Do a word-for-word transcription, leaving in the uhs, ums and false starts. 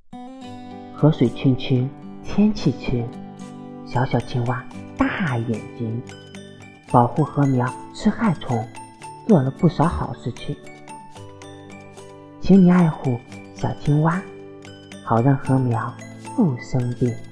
河水清清，天气晴，小小青蛙大眼睛，保护禾苗吃害虫，做了不少好事情。请你爱护小青蛙，好让禾苗不生病。